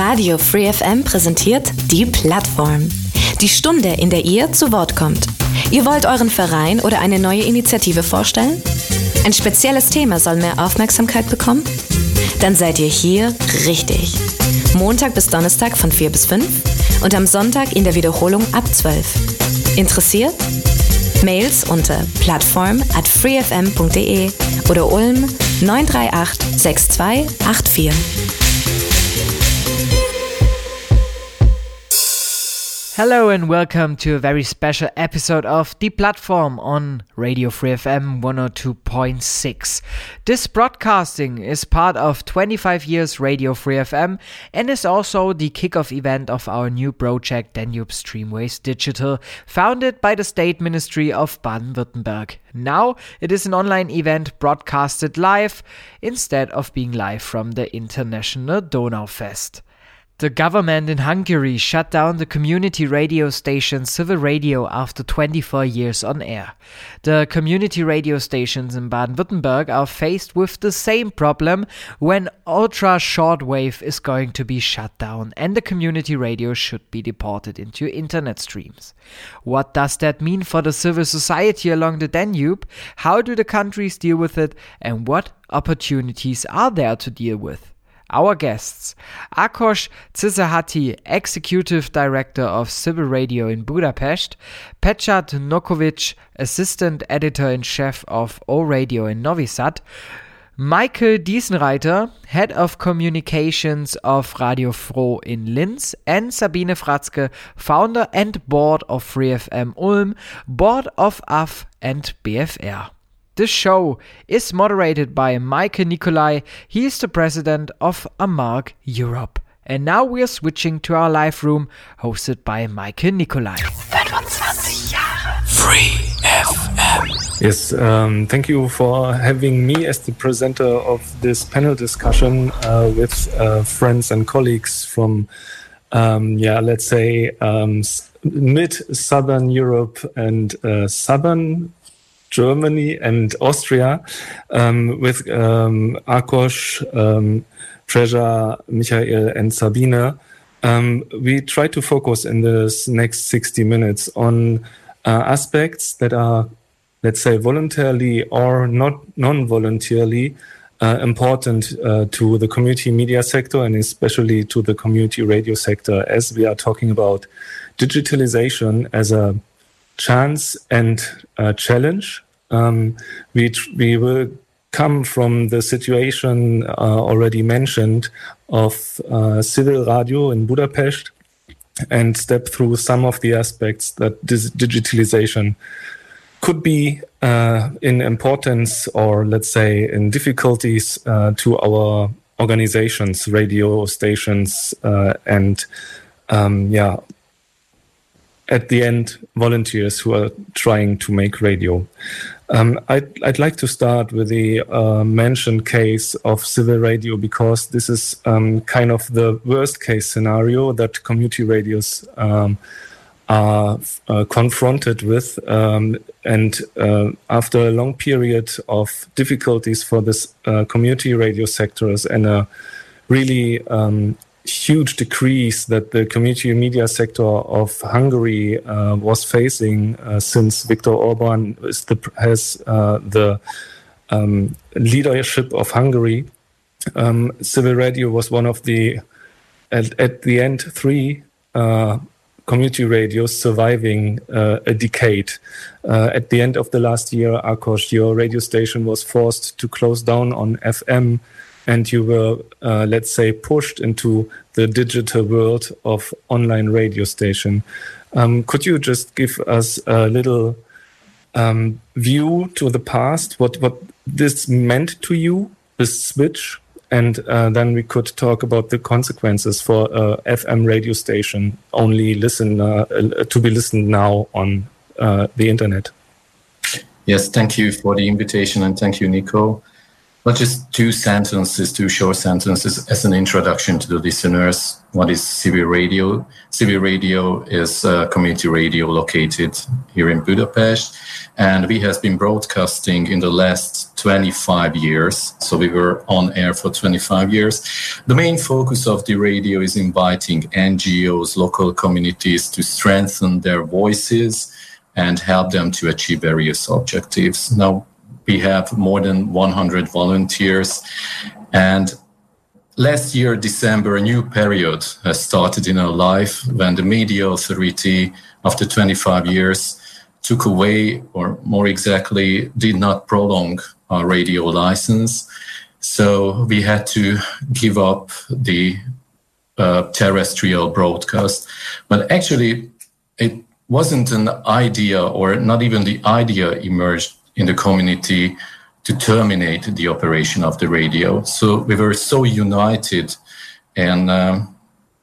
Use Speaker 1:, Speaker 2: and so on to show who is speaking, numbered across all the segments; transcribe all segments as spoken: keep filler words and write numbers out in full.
Speaker 1: Radio Free F M präsentiert die Plattform. Die Stunde, in der ihr zu Wort kommt. Ihr wollt euren Verein oder eine neue Initiative vorstellen? Ein spezielles Thema soll mehr Aufmerksamkeit bekommen? Dann seid ihr hier richtig. Montag bis Donnerstag von vier bis fünf und am Sonntag in der Wiederholung ab zwölf. Interessiert? Mails unter plattform at freefm punkt de oder Ulm neun drei acht sechs zwei acht vier.
Speaker 2: Hello and welcome to a very special episode of The Platform on Radio Free F M one oh two point six. This broadcasting is part of twenty-five years Radio Free F M and is also the kickoff event of our new project Danube Streamways Digital, founded by the State Ministry of Baden-Württemberg. Now it is an online event broadcasted live instead of being live from the International Donaufest. The government in Hungary shut down the community radio station Civil Radio after twenty-four years on air. The community radio stations in Baden-Württemberg are faced with the same problem when ultra shortwave is going to be shut down and the community radio should be deported into internet streams. What does that mean for the civil society along the Danube? How do the countries deal with it? And what opportunities are there to deal with? Our guests, Ákos Cizehati, Executive Director of Civil Radio in Budapest, Pecsát Nokovic, Assistant Editor-in-Chief of O Radio in Novi Sad, Michael Diesenreiter, Head of Communications of Radio Froh in Linz, and Sabine Fratzke, Founder and Board of Free F M Ulm, Board of A F and B F R. This show is moderated by Maike Nicolai. He is the president of Amarg Europe. And now we are switching to our live room, hosted by Maike Nicolai.
Speaker 3: twenty-five Jahre Free F M. Yes, um, thank you for having me as the presenter of this panel discussion uh, with uh, friends and colleagues from, um, yeah, let's say, um, mid-Southern Europe and uh, Southern Germany and Austria, um, with um, Ákos, um, Treasure, Michael and Sabine. Um, we try to focus in this next sixty minutes on uh, aspects that are, let's say, voluntarily or not non-voluntarily uh, important uh, to the community media sector and especially to the community radio sector, as we are talking about digitalization as a chance and uh, challenge. Um, we tr- we will come from the situation uh, already mentioned of uh, Civil Radio in Budapest and step through some of the aspects that this digitalization could be uh, in importance or, let's say, in difficulties uh, to our organizations, radio stations, uh, and um, yeah. at the end, volunteers who are trying to make radio. Um, I'd, I'd like to start with the uh, mentioned case of Civil Radio because this is um, kind of the worst case scenario that community radios um, are uh, confronted with. Um, and uh, after a long period of difficulties for this uh, community radio sectors and a really um, huge decrease that the community media sector of Hungary uh, was facing uh, since Viktor Orban is the, has uh, the um, leadership of Hungary. Um, Civil Radio was one of the, at, at the end, three uh, community radios surviving uh, a decade. Uh, at the end of the last year, Ákos, your radio station was forced to close down on F M, and you were, uh, let's say, pushed into the digital world of online radio station. Um, could you just give us a little um, view to the past, what, what this meant to you, this switch? And uh, then we could talk about the consequences for a F M radio station only listen uh, to be listened now on uh, the internet.
Speaker 4: Yes, thank you for the invitation and thank you, Nico. Well, just two sentences, two short sentences as an introduction to the listeners. What is C B Radio? C B Radio is a community radio located here in Budapest, and we have been broadcasting in the last twenty-five years. So we were on air for twenty-five years. The main focus of the radio is inviting N G Os, local communities to strengthen their voices and help them to achieve various objectives. Now, we have more than one hundred volunteers, and last year, December, a new period has started in our life when the Media Authority, after twenty-five years, took away, or more exactly, did not prolong our radio license. So we had to give up the uh, terrestrial broadcast. But actually, it wasn't an idea, or not even the idea emerged in the community to terminate the operation of the radio. So we were so united in, um,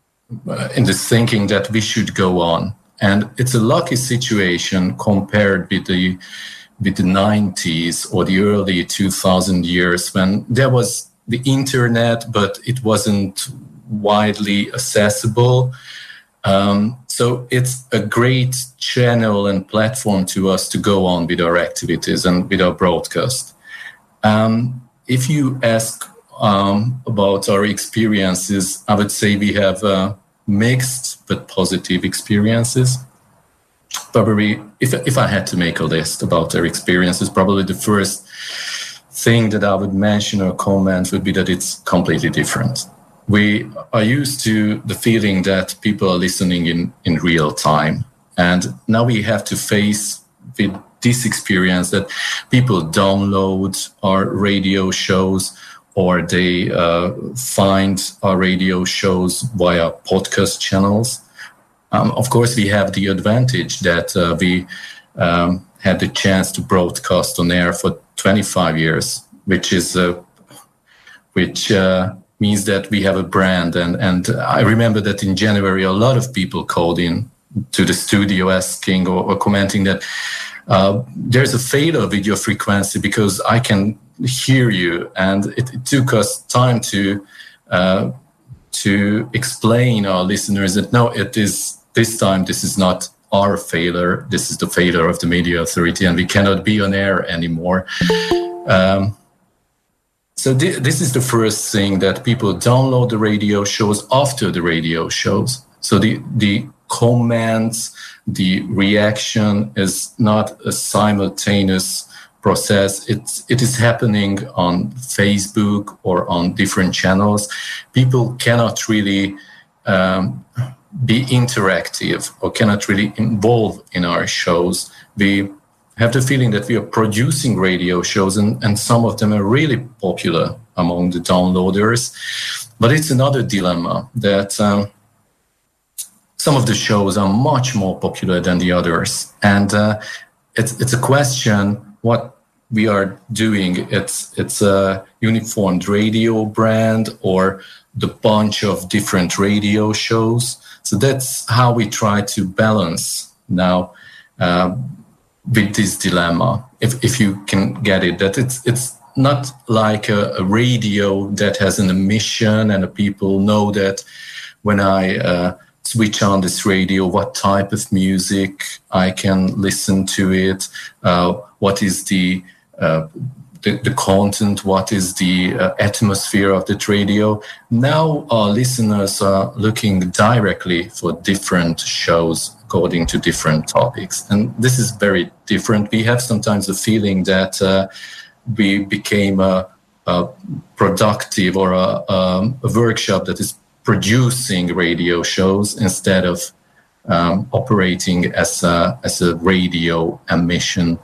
Speaker 4: in this thinking that we should go on. And it's a lucky situation compared with the, with the nineties or the early two thousand years when there was the internet, but it wasn't widely accessible. Um, so it's a great channel and platform to us to go on with our activities and with our broadcast. Um, if you ask um, about our experiences, I would say we have uh, mixed but positive experiences. Probably, if, if I had to make a list about our experiences, probably the first thing that I would mention or comment would be that it's completely different. We are used to the feeling that people are listening in, in real time. And now we have to face with this experience that people download our radio shows or they uh, find our radio shows via podcast channels. Um, of course, we have the advantage that uh, we um, had the chance to broadcast on air for twenty-five years, which is uh, which. Uh, means that we have a brand. And, and I remember that in January, a lot of people called in to the studio asking or, or commenting that uh, there's a failure with your frequency because I can hear you. And it, it took us time to uh, to explain our listeners that no, it is this time, this is not our failure. This is the failure of the Media Authority, and we cannot be on air anymore. Um, So th- this is the first thing, that people download the radio shows after the radio shows. So the, the comments, the reaction is not a simultaneous process. It's, it is happening on Facebook or on different channels. People cannot really um, be interactive or cannot really involve in our shows. We have the feeling that we are producing radio shows, and, and some of them are really popular among the downloaders. But it's another dilemma that um, some of the shows are much more popular than the others. And uh, it's, it's a question what we are doing. It's, it's a uniformed radio brand or the bunch of different radio shows. So that's how we try to balance now uh, with this dilemma, if if you can get it, that it's it's not like a, a radio that has an emission and the people know that when I uh, switch on this radio, what type of music I can listen to it, uh, what is the, uh, the the content, what is the uh, atmosphere of that radio. Now our listeners are looking directly for different shows according to different topics. And this is very different. We have sometimes the feeling that uh, we became a, a productive or a, um, a workshop that is producing radio shows instead of um, operating as a, as a radio emission.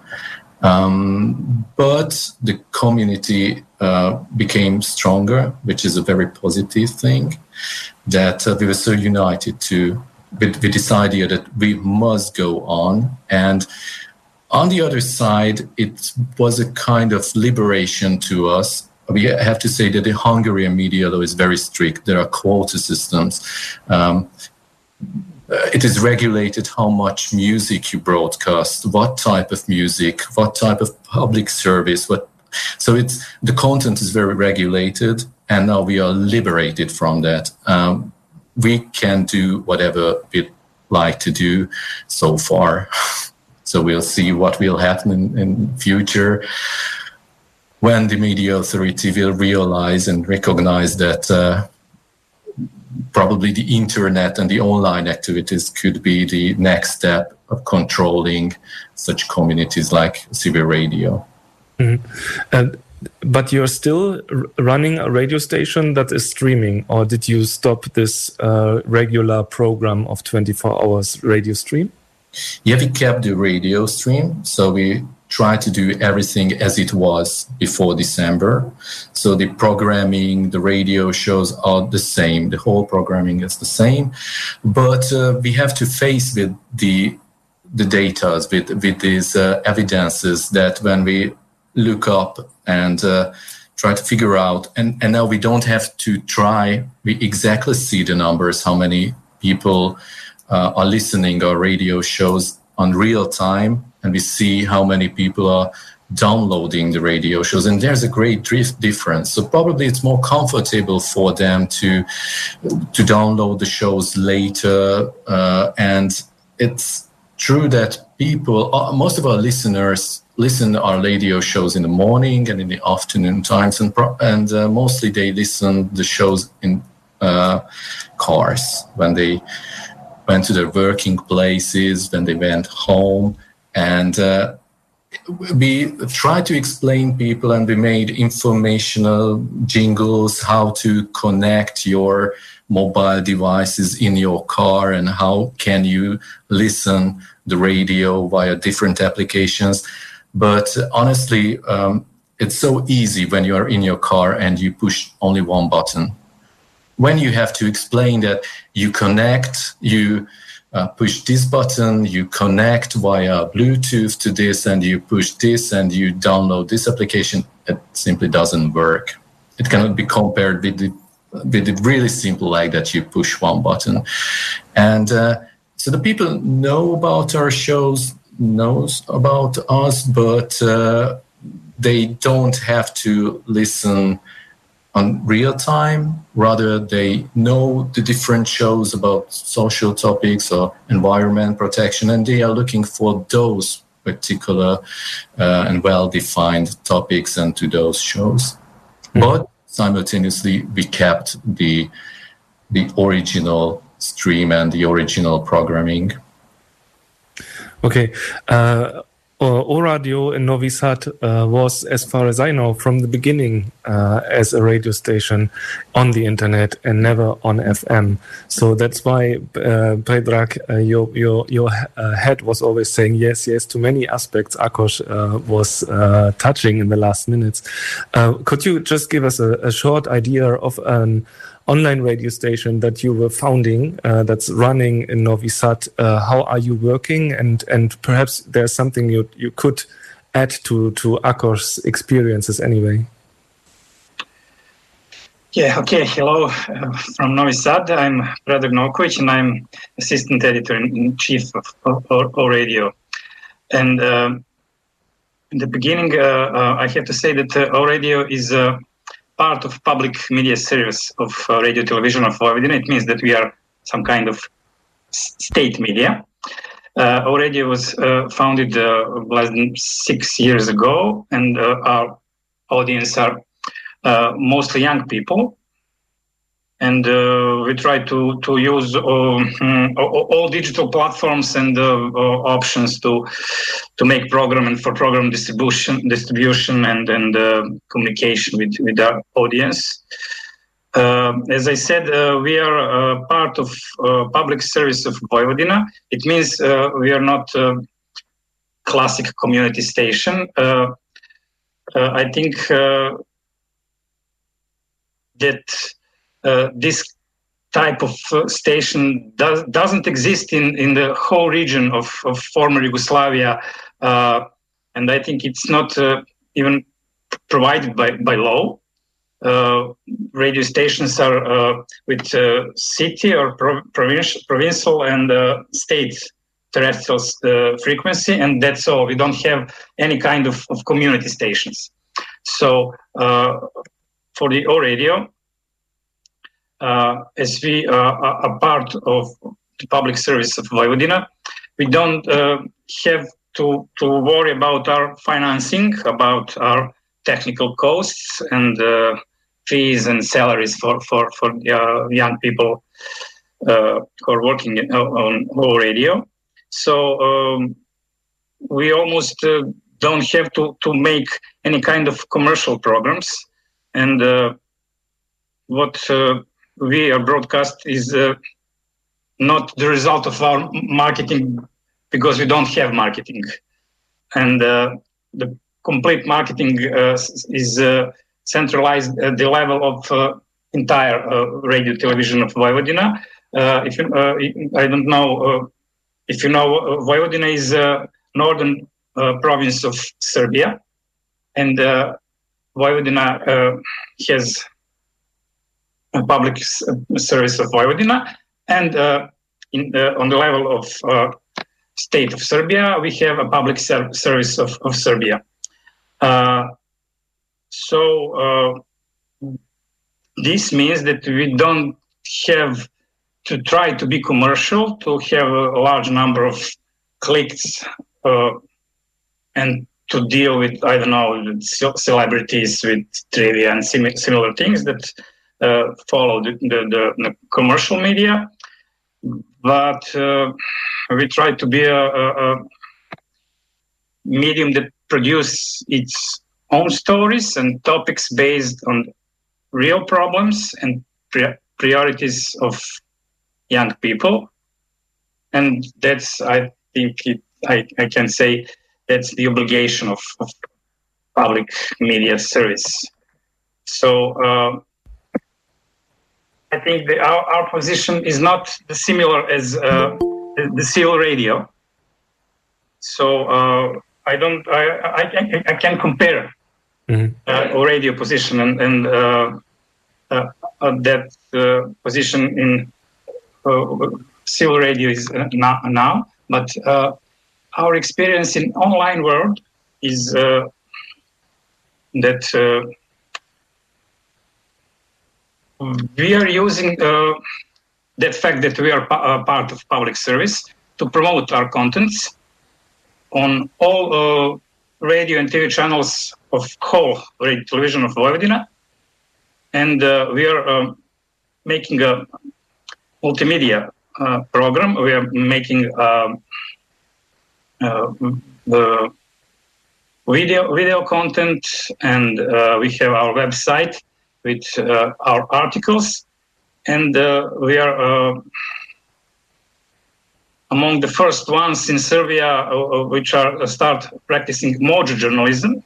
Speaker 4: Um, but the community uh, became stronger, which is a very positive thing, that uh, we were so united to With, with this idea that we must go on. And on the other side, it was a kind of liberation to us. We have to say that the Hungarian media law is very strict. There are quota systems. Um, it is regulated how much music you broadcast, what type of music, what type of public service, what So it's the content is very regulated, and now we are liberated from that. Um, we can do whatever we like to do so far. So we'll see what will happen in, in future when the media authority will realize and recognize that uh, probably the internet and the online activities could be the next step of controlling such communities like C B Radio.
Speaker 3: Mm-hmm. And but you're still r- running a radio station that is streaming, or did you stop this uh, regular program of twenty-four hours radio stream?
Speaker 4: Yeah, we kept the radio stream, so we try to do everything as it was before December. So the programming, the radio shows are the same. The whole programming is the same, but uh, we have to face with the the data, with with these uh, evidences that when we look up and uh, try to figure out, and, and now we don't have to try, we exactly see the numbers, how many people uh, are listening our radio shows on real time, and we see how many people are downloading the radio shows, and there's a great difference. So probably it's more comfortable for them to to download the shows later, uh, and it's true that people, uh, most of our listeners listen to our radio shows in the morning and in the afternoon times, and pro- and uh, mostly they listen the shows in uh, cars when they went to their working places, when they went home. And uh, we tried to explain people, and we made informational jingles, how to connect your mobile devices in your car and how can you listen the radio via different applications. But honestly, um, it's so easy when you are in your car and you push only one button. When you have to explain that you connect, you uh, push this button, you connect via Bluetooth to this, and you push this and you download this application, it simply doesn't work. It cannot be compared with the, with it really simple like that, you push one button. And uh, so the people know about our shows, knows about us, but uh, they don't have to listen on real time. Rather, they know the different shows about social topics or environment protection, and they are looking for those particular uh, and well-defined topics and to those shows. Mm-hmm. But simultaneously, we kept the the original stream and the original programming.
Speaker 3: Okay. Uh, O Radio in Novi Sad uh, was, as far as I know, from the beginning uh, as a radio station on the internet and never on F M. So that's why, uh, Predrag, uh, your your your uh, head was always saying yes, yes to many aspects Akos uh, was uh, touching in the last minutes. Uh, could you just give us a, a short idea of an online radio station that you were founding, uh, that's running in Novi Sad? Uh, how are you working? And and perhaps there's something you you could add to to Akos' experiences anyway.
Speaker 5: Yeah. Okay. Hello uh, from Novi Sad. I'm Predrag Novkovic, and I'm assistant editor in chief of O Radio. And uh, in the beginning, uh, uh, I have to say that uh, O Radio is a uh, part of public media service of uh, Radio Television of Vojvodina. It means that we are some kind of state media. Uh, O Radio was uh, founded uh, less than six years ago, and uh, our audience are uh, mostly young people. And uh, we try to to use uh, all, all digital platforms and uh, uh, options to to make program and for program distribution, distribution and and uh, communication with with our audience. Uh, as I said, uh, we are uh, part of uh, public service of Vojvodina. It means uh, we are not a classic community station. Uh, uh, I think uh, that. Uh, this type of uh, station does, doesn't exist in, in the whole region of, of former Yugoslavia, uh, and I think it's not uh, even provided by, by law. Uh, radio stations are uh, with uh, city or pro- provincial, provincial and uh, state terrestrial uh, frequency, and that's all. We don't have any kind of, of community stations. So uh, for the O Radio, uh, as we uh, are a part of the public service of Vojvodina, we don't uh, have to, to worry about our financing, about our technical costs and uh, fees and salaries for, for, for uh, young people uh, who are working in, on O Radio. So um, we almost uh, don't have to, to make any kind of commercial programs. And uh, what uh, we are broadcast is uh, not the result of our marketing, because we don't have marketing. And uh, the complete marketing uh, is uh, centralized at the level of uh, entire uh, radio television of Vojvodina. Uh, if you, uh, I don't know uh, if you know, uh, Vojvodina is a northern uh, province of Serbia, and uh, Vojvodina uh, has a public s- service of Vojvodina, and uh, in, uh, on the level of uh, state of Serbia, we have a public ser- service of, of Serbia. Uh, so uh, this means that we don't have to try to be commercial, to have a large number of clicks uh, and to deal with, I don't know, with celebrities, with trivia and sim- similar things that uh, follow the, the, the, the commercial media. But uh, we try to be a, a, a medium that produces its own stories and topics based on real problems and pri- priorities of young people. And that's, I think, it, I, I can say, that's the obligation of, of public media service. So uh, I think the, our, our position is not similar as uh, the, the civil radio. So uh, I don't, I, I, I, I can compare mm-hmm. uh, radio position and, and uh, uh, uh, that uh, position in uh, civil radio is uh, now, now. But uh, our experience in online world is uh, that uh, we are using uh, that fact that we are pa- part of public service to promote our contents on all uh, radio and T V channels of whole radio television of Vojvodina. And uh, we are uh, making a multimedia uh, program. We are making uh, uh, the video video content, and uh, we have our website with uh, our articles, and uh, we are uh, among the first ones in Serbia uh, which are uh, start practicing mojo journalism.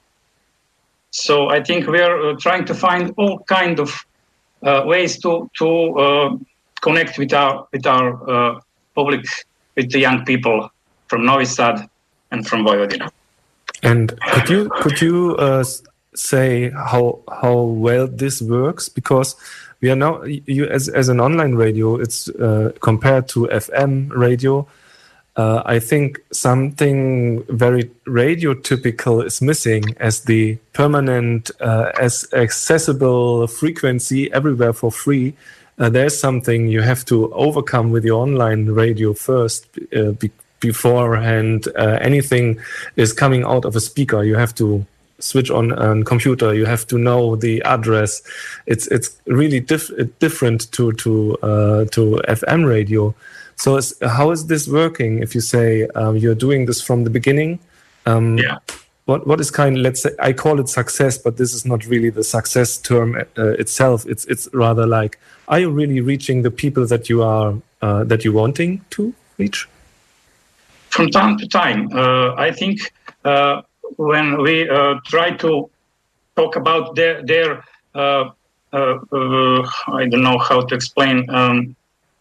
Speaker 5: So I think we are uh, trying to find all kind of uh, ways to to uh, connect with our with our uh, public, with the young people from Novi Sad and from Vojvodina.
Speaker 3: And could you could you uh, say how how well this works? Because we are now, you as as an online radio, it's uh, compared to F M radio. Uh, I think something very radio typical is missing, as the permanent, uh, as accessible frequency everywhere for free. Uh, there's something you have to overcome with your online radio first, uh, be- beforehand. Uh, anything is coming out of a speaker, you have to switch on a computer. You have to know the address. It's it's really diff- different to to uh, to F M radio. So it's, how is this working? If you say um, you're doing this from the beginning, um,
Speaker 5: yeah.
Speaker 3: What what is kind? Let's say I call it success, but this is not really the success term uh, itself. It's it's rather like, are you really reaching the people that you are uh, that you're wanting to reach?
Speaker 5: From time to time, uh, I think uh, when we uh, try to talk about their their uh, uh, uh, I don't know how to explain. Um,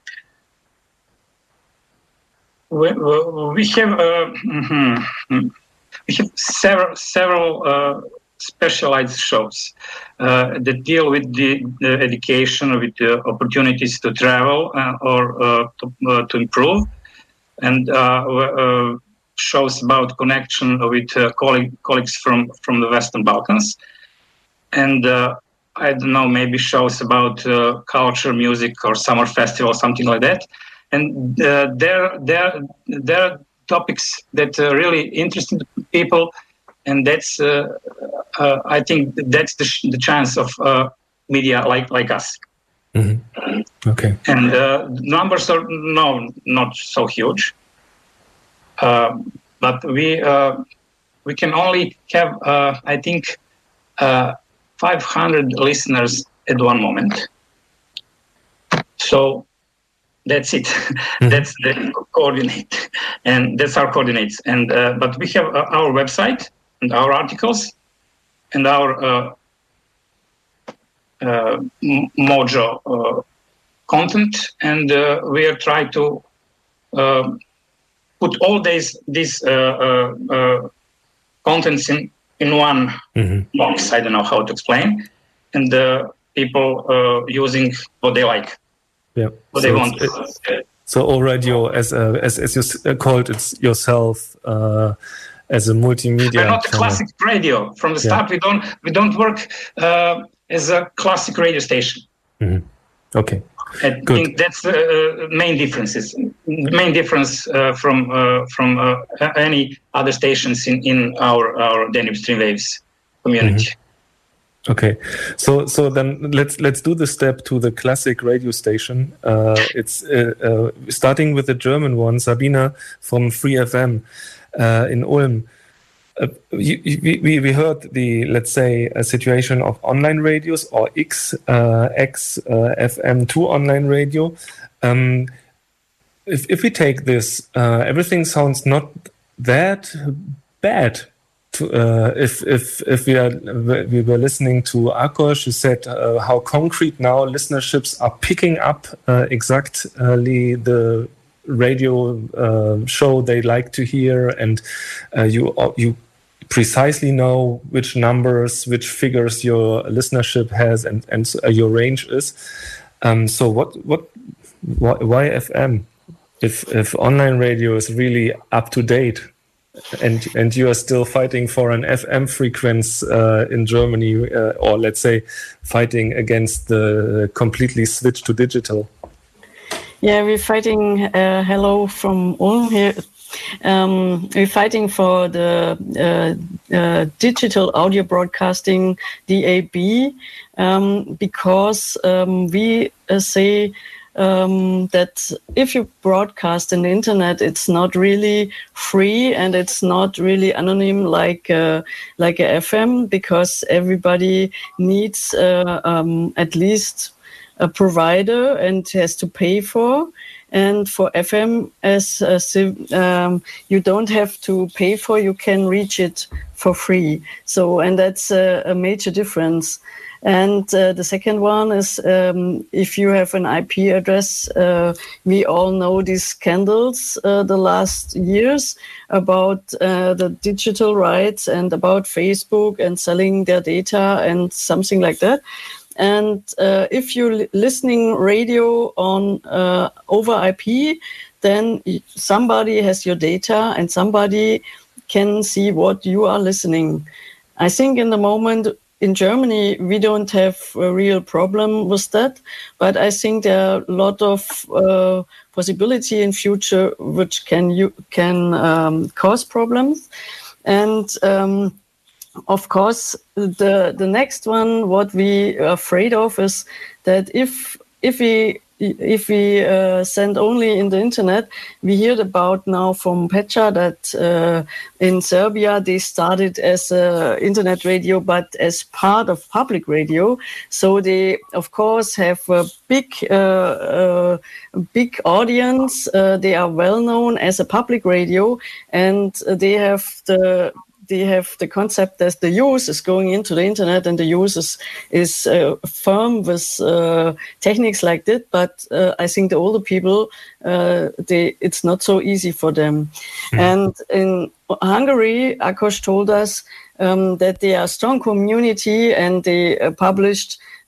Speaker 5: we, we have uh, mm-hmm, we have several several uh, specialized shows uh, that deal with the, the education, with the opportunities to travel uh, or uh, to, uh, to improve, and uh, uh, shows about connection with uh, colleague, colleagues from, from the Western Balkans. and uh, I don't know, maybe shows about uh, culture, music, or summer festival, something like that. And uh, there, there, there are topics that are really interesting to people, and that's, uh, uh, I think, that's the, sh- the chance of uh, media like like us.
Speaker 3: Mm-hmm. Okay.
Speaker 5: And uh, numbers are no, not so huge, uh, but we uh, we can only have, uh, I think, uh, five hundred listeners at one moment. So that's it. Mm-hmm. That's the coordinate, and that's our coordinates. And uh, but we have uh, our website and our articles and our uh, uh, Mojo uh, content, and uh, we are trying to uh, put all these these uh, uh, uh, contents in in one mm-hmm. box. I don't know how to explain, and uh, people uh, using what they like.
Speaker 3: Yeah,
Speaker 5: what
Speaker 3: so
Speaker 5: they want.
Speaker 3: It, so O Radio, as a, as as you called it yourself, uh, as a multimedia.
Speaker 5: We're not a
Speaker 3: channel.
Speaker 5: Classic radio from the start. Yeah. We don't we don't work uh, as a classic radio station.
Speaker 3: Mm-hmm. Okay,
Speaker 5: I
Speaker 3: good.
Speaker 5: think that's the uh, main differences. Main difference uh, from uh, from uh, any other stations in, in our our Danube Streamwaves community.
Speaker 3: Mm-hmm. Okay, so so then let's let's do the step to the classic radio station. Uh, it's uh, uh, starting with the German one, Sabina from Free F M uh, in Ulm. Uh, you, you, we we heard the, let's say, a situation of online radios or X uh, X uh, F M two online radio. Um, if if we take this, uh, everything sounds not that bad. To, uh, if if if we are we were listening to Akos, who said uh, how concrete now listenerships are picking up uh, exactly the radio uh, show they like to hear, and uh, you you precisely know which numbers, which figures your listenership has, and and uh, your range is. Um, so what what why, why F M if if online radio is really up to date? And and you are still fighting for an F M frequency uh, in Germany, uh, or let's say, fighting against the completely switch to digital.
Speaker 6: Yeah, we're fighting. Uh, hello from Ulm here. Um, we're fighting for the uh, uh, digital audio broadcasting D A B um, because um, we uh, say. Um, that if you broadcast on the internet, it's not really free and it's not really anonym like uh, like a F M, because everybody needs uh, um, at least a provider and has to pay for. And for F M, as uh, um, you don't have to pay for, you can reach it for free. So, and that's a, a major difference. And uh, the second one is um, if you have an I P address, uh, we all know these scandals uh, the last years about uh, the digital rights and about Facebook and selling their data and something like that. And uh, if you're listening radio on uh, over I P, then somebody has your data and somebody can see what you are listening. I think in the moment, in Germany, we don't have a real problem with that, but I think there are a lot of uh, possibility in future which can you can um, cause problems. And um, of course, the the next one, what we are afraid of is that if if we if we uh, send only in the internet, we heard about now from Petra that uh, in Serbia they started as a internet radio, but as part of public radio. So they, of course, have a big, uh, uh, big audience. Uh, they are well known as a public radio, and they have the. They have the concept that the use is going into the internet and the use is, is uh, firm with uh, techniques like that. But uh, I think the older people, uh, they it's not so easy for them. Mm. And in Hungary, Akos told us um, that they are a strong community and they uh, published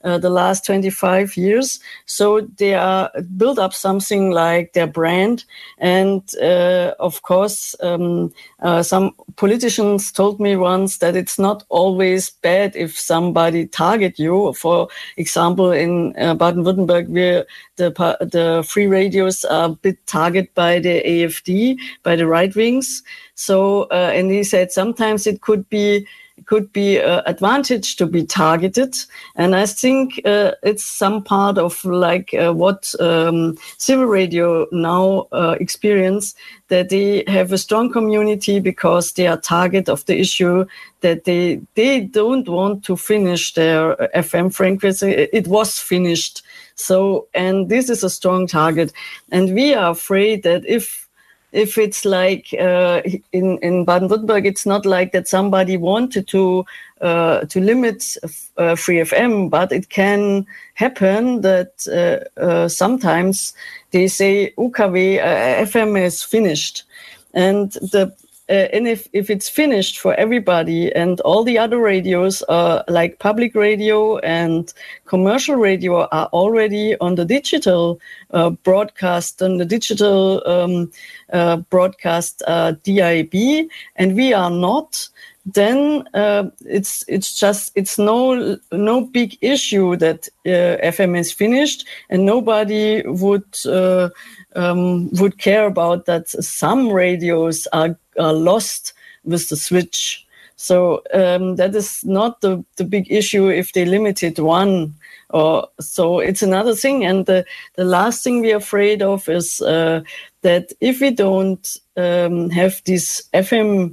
Speaker 6: uh, the last twenty-five years. So they are build up something like their brand. And uh, of course, um, uh, some politicians told me once that it's not always bad if somebody target you. For example, in uh, Baden-Württemberg, we're The, the free radios are a bit targeted by the A F D, by the right wings. So, uh, and he said sometimes it could be could be an advantage to be targeted. And I think uh, it's some part of like uh, what um, civil radio now uh, experience, that they have a strong community because they are target of the issue, that they they don't want to finish their F M frequency. It was finished. So, and this is a strong target. And we are afraid that if if it's like uh, in, in Baden-Württemberg, it's not like that somebody wanted to uh, to limit uh, free F M, but it can happen that uh, uh, sometimes they say U K W uh, F M is finished. And the Uh, and if, if it's finished for everybody and all the other radios are like public radio and commercial radio are already on the digital uh, broadcast, on the digital um, uh, broadcast uh, D I B, and we are not, then uh, it's it's just it's no no big issue that uh, F M is finished, and nobody would uh, um, would care about that. Some radios are, are lost with the switch, so um, that is not the, the big issue if they limited one. Or so it's another thing. And the, the last thing we're afraid of is uh, that if we don't um, have this F M,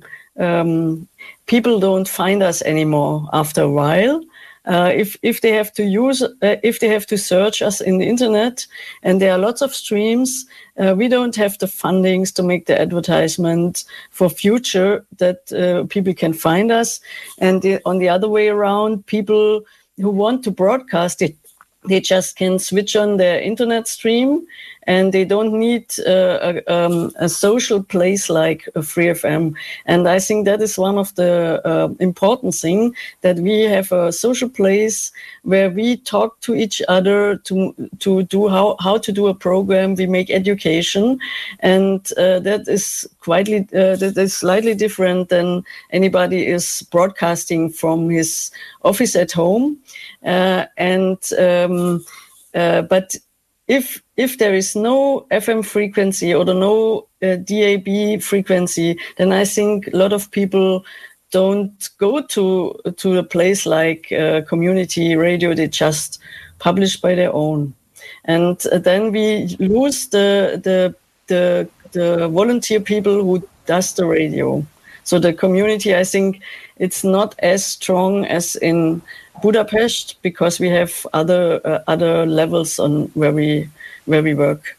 Speaker 6: um, people don't find us anymore after a while. Uh, if if they have to use, uh, if they have to search us in the internet, and there are lots of streams, uh, we don't have the fundings to make the advertisement for future that uh, people can find us. And the, on the other way around, people who want to broadcast it, they just can switch on their internet stream, and they don't need uh, a, um, a social place like a free F M. And I think that is one of the uh, important things, that we have a social place where we talk to each other to to do how, how to do a program. We make education, and uh, that is quite uh, that is slightly different than anybody is broadcasting from his office at home. Uh, and um, uh, but if if there is no F M frequency or no uh, D A B frequency, then I think a lot of people don't go to to a place like uh, community radio. They just publish by their own, and uh, then we lose the the the the volunteer people who does the radio. So the community, I think, it's not as strong as in Budapest, because we have other uh, other levels on where we where we work.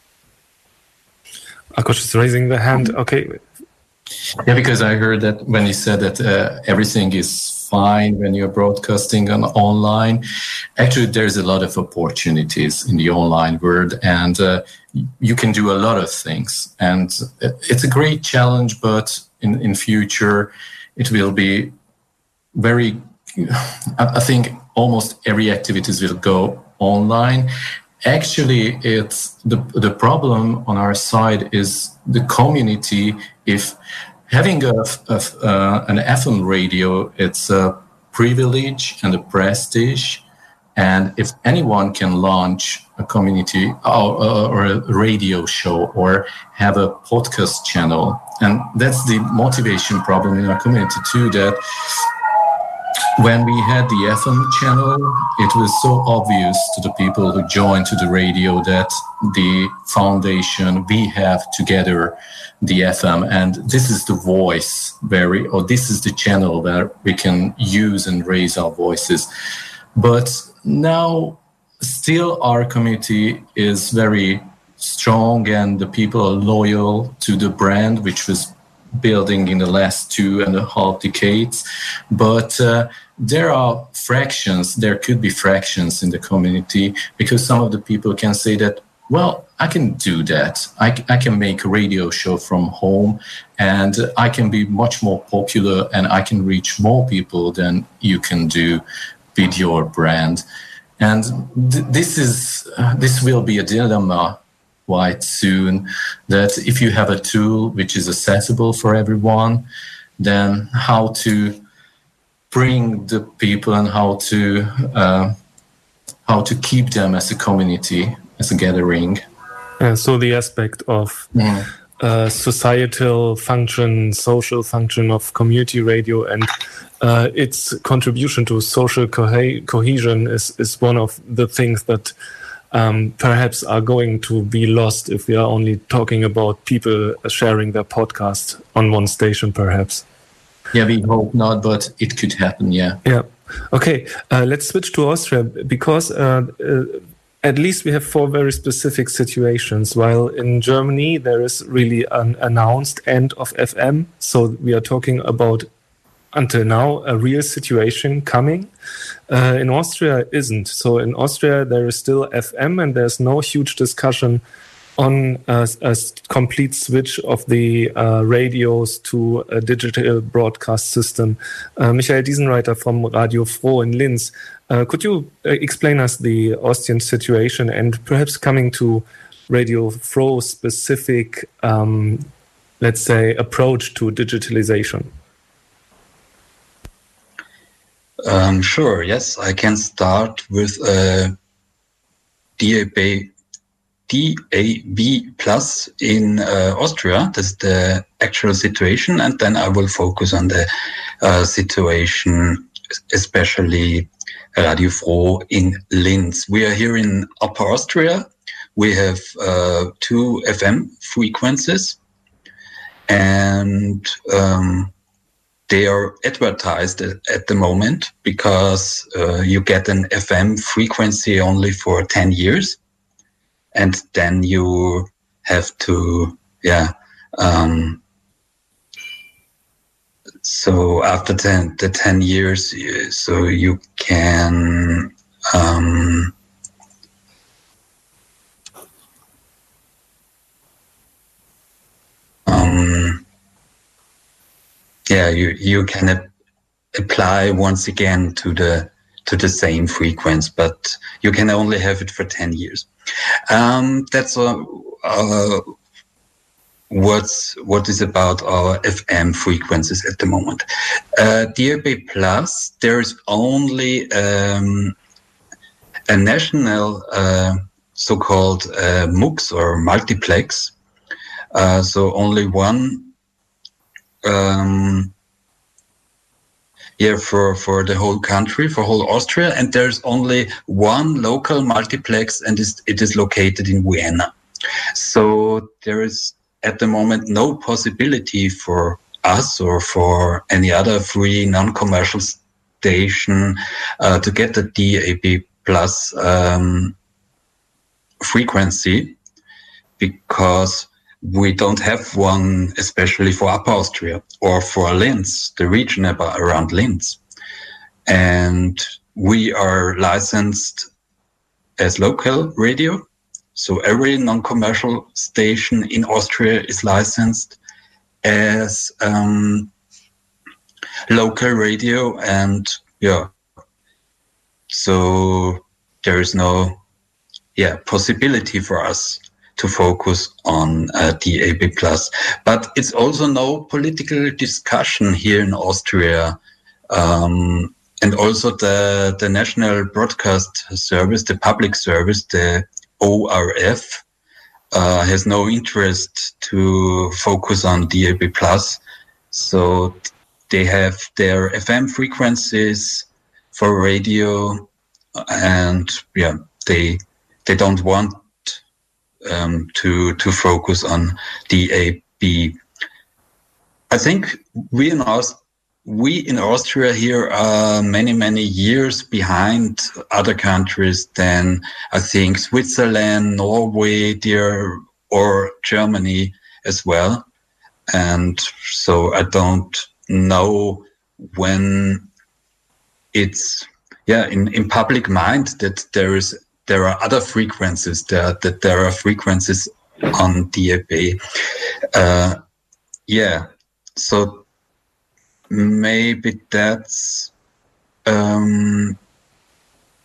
Speaker 3: Akos is raising the hand. Okay.
Speaker 4: Yeah, because I heard that when you said that uh, everything is fine when you're broadcasting on online, actually there's a lot of opportunities in the online world, and uh, you can do a lot of things. And it's a great challenge, but in, in future it will be very, I think almost every activities will go online. Actually, it's the the problem on our side is the community. If having a, a uh, an F M radio, it's a privilege and a prestige. And if anyone can launch a community or, or a radio show or have a podcast channel, and that's the motivation problem in our community too, that when we had the F M channel, it was so obvious to the people who joined to the radio that the foundation, we have together the F M, and this is the voice where we, or this is the channel where we can use and raise our voices. But now still our community is very strong, and the people are loyal to the brand, which was building in the last two and a half decades. But uh, there are fractions, there could be fractions in the community, because some of the people can say that, well, I can do that. I, I can make a radio show from home, and I can be much more popular, and I can reach more people than you can do with your brand. And th- this is uh, this will be a dilemma quite soon, that if you have a tool which is accessible for everyone, then how to bring the people and how to uh, how to keep them as a community, as a gathering.
Speaker 3: Uh, so the aspect of
Speaker 4: Mm.
Speaker 3: uh, societal function, social function of community radio, and uh, its contribution to social co- cohesion is, is one of the things that um, perhaps are going to be lost if we are only talking about people sharing their podcast on one station, perhaps.
Speaker 4: Yeah, we hope not, but it could happen, yeah.
Speaker 3: Yeah. Okay, uh, let's switch to Austria, because uh, uh, at least we have four very specific situations. While in Germany, there is really an announced end of F M. So we are talking about, until now, a real situation coming. Uh, in Austria, isn't. So in Austria, there is still F M, and there's no huge discussion on a, a complete switch of the uh, radios to a digital broadcast system. Uh, Michael Diesenreiter from Radio Froh in Linz, uh, could you uh, explain us the Austrian situation, and perhaps coming to Radio Froh's specific, um, let's say, approach to digitalization?
Speaker 7: Um, sure, yes, I can start with uh, D A B D A B plus in uh, Austria. That's the actual situation, and then I will focus on the uh, situation, especially Radio Froh in Linz. We are here in Upper Austria. We have uh, two F M frequencies, and um, they are advertised at the moment because uh, you get an F M frequency only for ten years. And then you have to, yeah. Um, so after ten, the ten years, so you can um, um, yeah, you you can ap- apply once again to the to the same frequency, but you can only have it for ten years. Um, that's uh, uh, what's what is about our F M frequencies at the moment. Uh, D A B plus, there is only um, a national uh, so-called uh, MUX or multiplex. Uh, so only one. Um, Yeah, for, for the whole country, for whole Austria, and there's only one local multiplex, and it is located in Vienna. So there is at the moment no possibility for us or for any other free non-commercial station uh, to get the D A B plus um, frequency, because we don't have one, especially for Upper Austria or for Linz, the region about, around Linz. And we are licensed as local radio. So every non-commercial station in Austria is licensed as um, local radio. And yeah, so there is no yeah possibility for us to focus on uh, D A B plus. But it's also no political discussion here in Austria. Um, and also the, the National Broadcast Service, the public service, the O R F, uh, has no interest to focus on D A B plus. So they have their F M frequencies for radio, and yeah, they they don't want Um, to to focus on D A B. I think we in Aust- we in Austria here are many many years behind other countries than I think Switzerland, Norway, dear, or Germany as well. And so I don't know when it's yeah in, in public mind that there is. There are other frequencies there, that there are frequencies on D A B. Uh, yeah, so maybe that's um,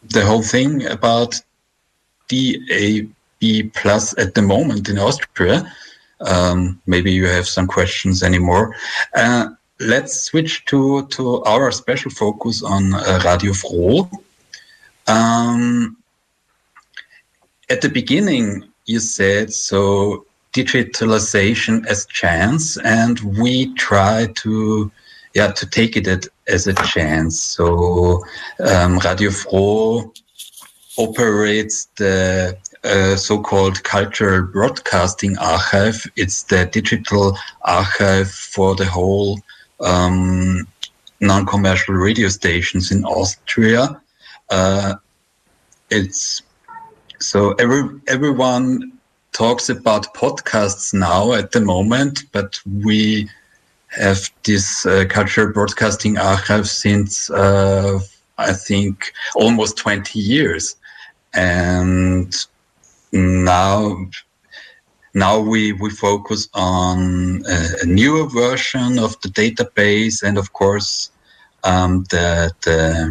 Speaker 7: the whole thing about D A B plus at the moment in Austria. Um, maybe you have some questions anymore. Uh, let's switch to, to our special focus on uh, Radio Froh. Um, at the beginning, you said, so digitalization as chance, and we try to, yeah, to take it as a chance. So um, Radio Froh operates the uh, so-called Cultural Broadcasting Archive. It's the digital archive for the whole um, non-commercial radio stations in Austria. Uh, it's so every everyone talks about podcasts now at the moment, but we have this uh, Cultural Broadcasting Archive since uh, I think almost twenty years. And now, now we, we focus on a, a newer version of the database, and of course, um, the the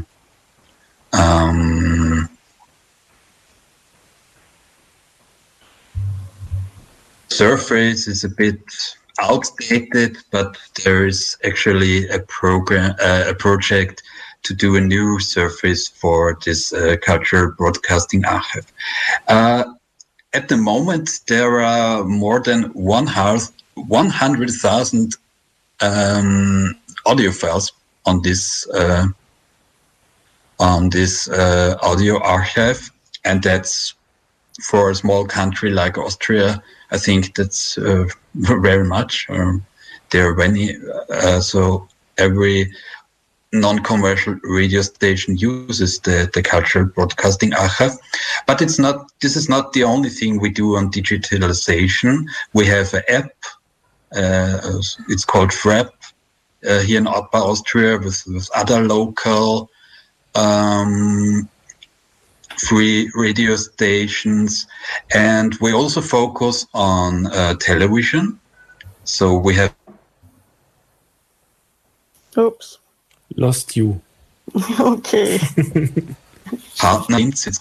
Speaker 7: um, surface is a bit outdated, but there is actually a program, uh, a project to do a new surface for this uh, Cultural Broadcasting Archive. Uh, at the moment, there are more than one hundred thousand um, audio files on this uh, on this uh, audio archive, and that's for a small country like Austria. I think that's uh, very much. Um, there are many, uh, so every non-commercial radio station uses the, the Cultural Broadcasting Archive. But it's not. This is not the only thing we do on digitalization. We have an app. Uh, it's called FRAP uh, here in Upper Austria with, with other local um, free radio stations. And we also focus on uh, television. So we have...
Speaker 6: Oops.
Speaker 3: Lost you.
Speaker 6: Okay.
Speaker 7: Partners.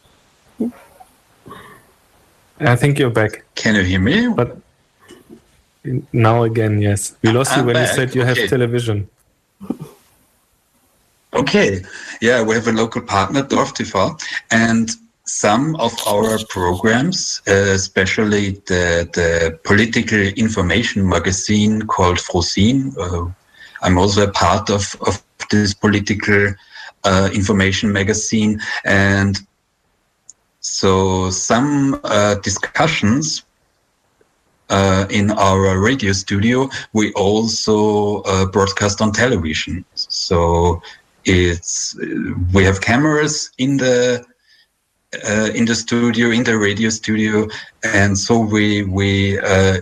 Speaker 3: I think you're back.
Speaker 7: Can you hear me?
Speaker 3: But now again, yes. We lost
Speaker 7: I'm
Speaker 3: you when
Speaker 7: back.
Speaker 3: you said you
Speaker 7: Okay.
Speaker 3: have television.
Speaker 7: Okay. Yeah, we have a local partner, Dorf T V, and some of our programs, uh, especially the, the political information magazine called Frosin. Uh, I'm also a part of, of this political uh, information magazine. And so some uh, discussions uh, in our radio studio, we also uh, broadcast on television. So it's we have cameras in the uh, in the studio, in the radio studio, and so we we uh,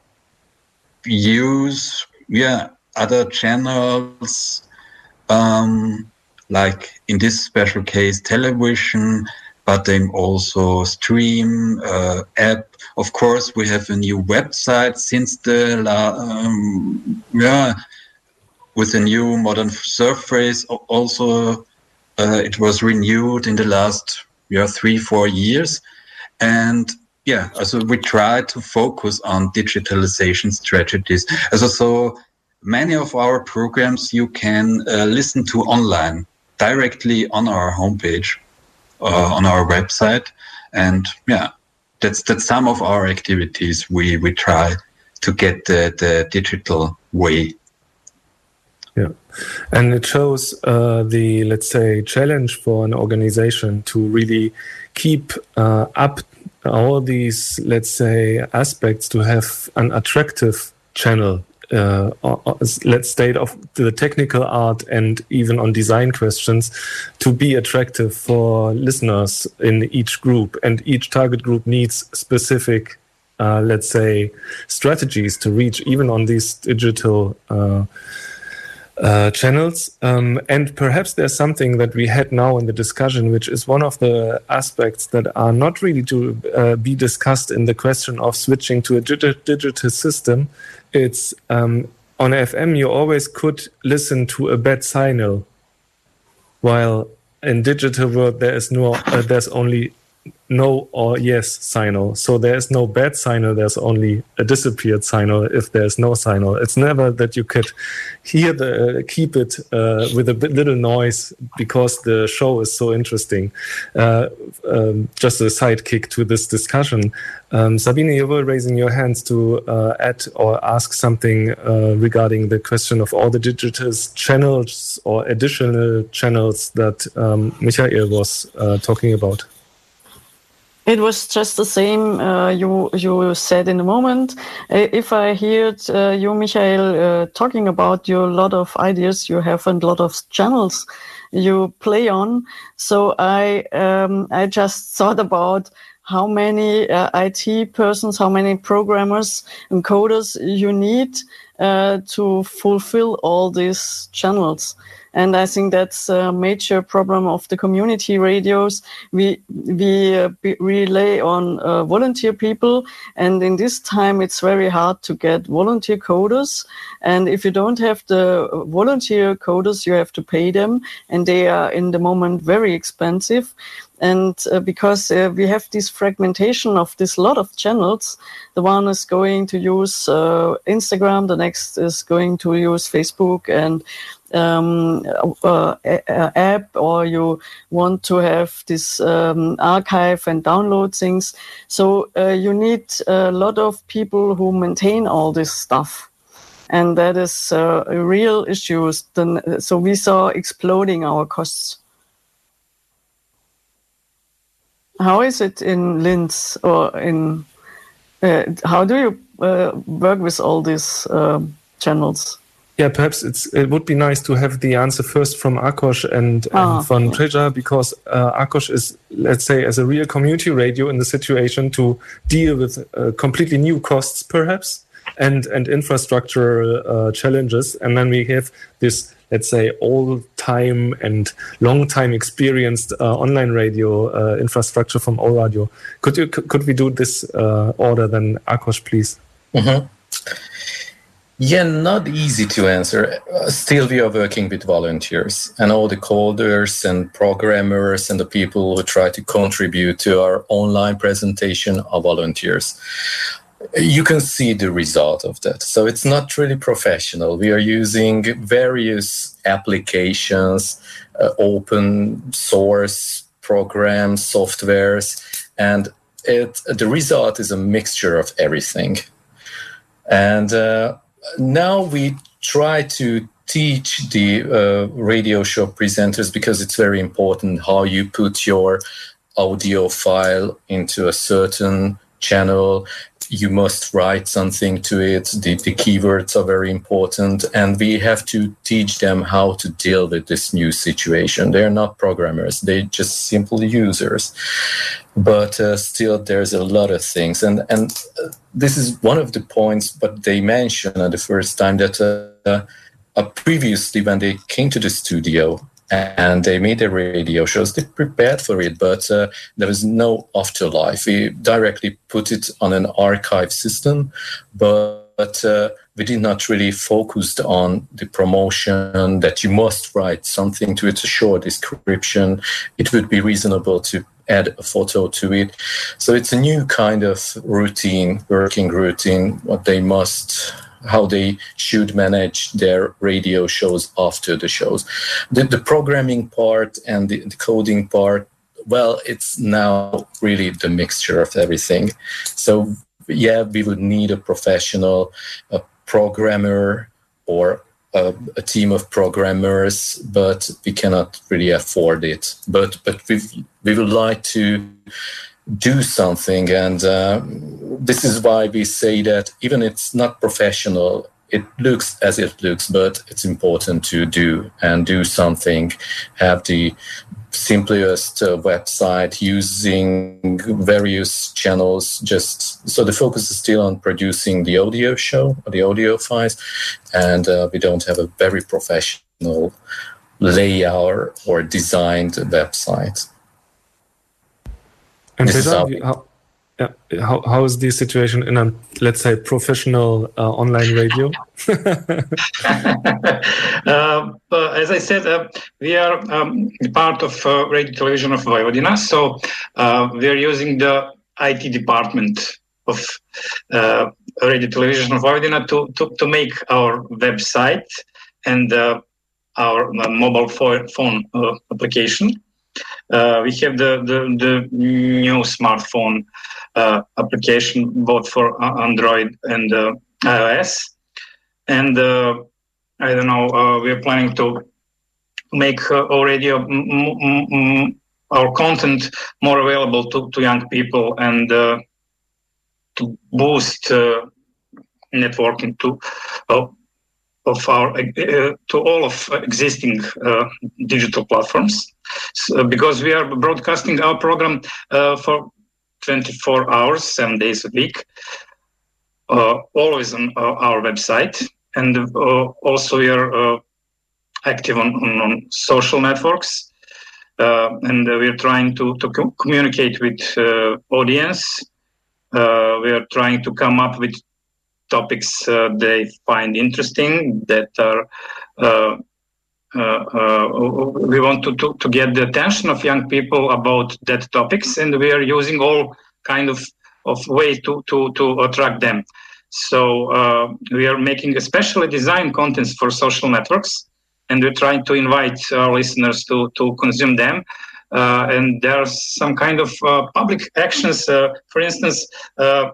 Speaker 7: use yeah. other channels, um, like in this special case, television, but then also stream, uh, app. Of course, we have a new website since the, la- um, yeah, with a new modern surface. Also, uh, it was renewed in the last, yeah, three, four years. And yeah, also we try to focus on digitalization strategies. Also, so many of our programs you can uh, listen to online directly on our homepage, uh, on our website, and yeah, that's that's some of our activities. We we try to get the, the digital way.
Speaker 3: Yeah, and it shows uh, the, let's say, challenge for an organization to really keep uh, up all these, let's say, aspects to have an attractive channel. Uh, let's state of the technical art and even on design questions to be attractive for listeners in each group, and each target group needs specific, uh, let's say, strategies to reach even on these digital uh, uh, channels. Um, and perhaps there's something that we had now in the discussion, which is one of the aspects that are not really to uh, be discussed in the question of switching to a dig- digital system. It's um, on F M, you always could listen to a bad signal, while in digital world, there is no, uh, there's only no or yes signal. So there is no bad signal. There's only a disappeared signal if there's no signal. It's never that you could hear the uh, keep it uh, with a bit little noise because the show is so interesting. Uh, um, just a sidekick to this discussion. Um, Sabine, you were raising your hands to uh, add or ask something uh, regarding the question of all the digital channels or additional channels that um, Michael was uh, talking about.
Speaker 6: It was just the same uh, you you said in a moment. Uh, if I heard uh, you, Michael, uh, talking about your lot of ideas you have and a lot of channels you play on, so I um, I just thought about how many uh, I T persons, how many programmers and coders you need uh, to fulfill all these channels. And I think that's a major problem of the community radios. We we uh, be, rely on uh, volunteer people, and in this time it's very hard to get volunteer coders. And if you don't have the volunteer coders, you have to pay them, and they are in the moment very expensive. And uh, because uh, we have this fragmentation of this lot of channels, the one is going to use uh, Instagram, the next is going to use Facebook and um, uh, uh, app, or you want to have this um, archive and download things. So uh, you need a lot of people who maintain all this stuff. And that is uh, a real issue. So we saw exploding our costs. How is it in Linz, or in uh, how do you uh, work with all these uh, channels?
Speaker 3: Yeah, perhaps it's it would be nice to have the answer first from Akos and,
Speaker 6: ah,
Speaker 3: and von
Speaker 6: yeah.
Speaker 3: Treasure, because uh, Akos is, let's say, as a real community radio in the situation to deal with uh, completely new costs, perhaps, and and infrastructure uh, challenges, and then we have this, let's say, old-time and long-time experienced uh, online radio uh, infrastructure from O-Radio. Could you could we do this uh, order then, Akos, please?
Speaker 4: Mm-hmm. Yeah, not easy to answer. Uh, still, we are working with volunteers, and all the coders and programmers and the people who try to contribute to our online presentation are volunteers. You can see the result of that. So it's not really professional. We are using various applications, uh, open source programs, softwares, and it, the result is a mixture of everything. And uh, now we try to teach the uh, radio show presenters, because it's very important how you put your audio file into a certain channel. You must write something to it. The, the keywords are very important, and we have to teach them how to deal with this new situation. They're not programmers. They're just simple users. But uh, still, there's a lot of things. And, and uh, this is one of the points, but they mentioned at the first time that uh, uh, previously when they came to the studio, and they made their radio shows, they prepared for it, but uh, there was no afterlife. We directly put it on an archive system, but, but uh, we did not really focus on the promotion, that you must write something to it, a short description. It would be reasonable to add a photo to it. So it's a new kind of routine, working routine, what they must... how they should manage their radio shows after the shows. The, the programming part and the, the coding part, well, it's now really the mixture of everything. So, yeah, we would need a professional a programmer or a, a team of programmers, but we cannot really afford it. But but we we would like to do something, and uh, this is why we say that even it's not professional, it looks as it looks, but it's important to do and do something. Have the simplest uh, website, using various channels, just so the focus is still on producing the audio show or the audio files, and uh, we don't have a very professional layout or designed website.
Speaker 3: And
Speaker 4: This is
Speaker 3: Peter,
Speaker 4: how
Speaker 3: you- how, Yeah. How how is the situation in a, let's say, professional uh, online radio?
Speaker 5: uh, uh, as I said, uh, we are um, part of uh, Radio Television of Vojvodina, so uh, we are using the I T department of uh, Radio Television of Vojvodina to, to, to make our website and uh, our uh, mobile fo- phone uh, application. Uh, we have the, the, the new smartphone uh, application both for Android and uh, iOS. And uh, I don't know, uh, we are planning to make uh, our radio, m- m- m- our content more available to, to young people and uh, to boost uh, networking to uh, of our uh, to all of existing uh, digital platforms, so, because we are broadcasting our program uh, for twenty-four hours, seven days a week, uh, always on uh, our website, and uh, also we are uh, active on, on, on social networks, uh, and uh, we are trying to to co- communicate with uh, audience. Uh, we are trying to come up with topics uh, they find interesting, that are uh, uh, uh, we want to, to, to get the attention of young people about that topics, and we are using all kind of, of ways to, to, to attract them. So uh, we are making especially designed contents for social networks, and we're trying to invite our listeners to, to consume them. Uh, and there are some kind of uh, public actions, uh, for instance, uh,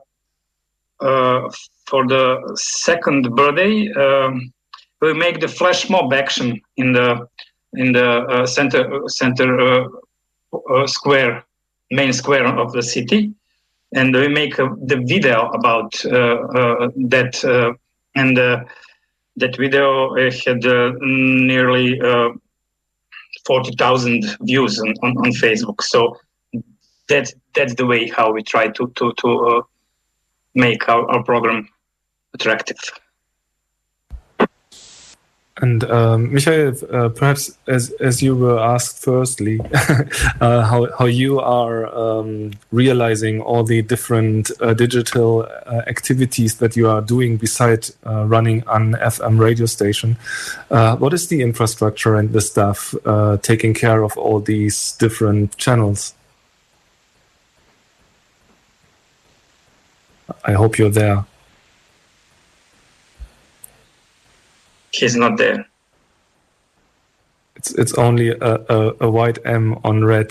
Speaker 5: uh, for the second birthday, um, we make the flash mob action in the in the uh, center center uh, uh, square, main square of the city, and we make uh, the video about uh, uh, that, uh, and uh, that video had uh, nearly uh, forty thousand views on, on, on Facebook. So that that's the way how we try to to to uh, make our, our program attractive.
Speaker 3: And um, Michael, uh, perhaps as as you were asked firstly, uh, how how you are um, realizing all the different uh, digital uh, activities that you are doing beside uh, running an F M radio station. Uh, what is the infrastructure and the staff uh, taking care of all these different channels? I hope you're there.
Speaker 5: He's not there.
Speaker 3: It's it's only a, a, a white M on red.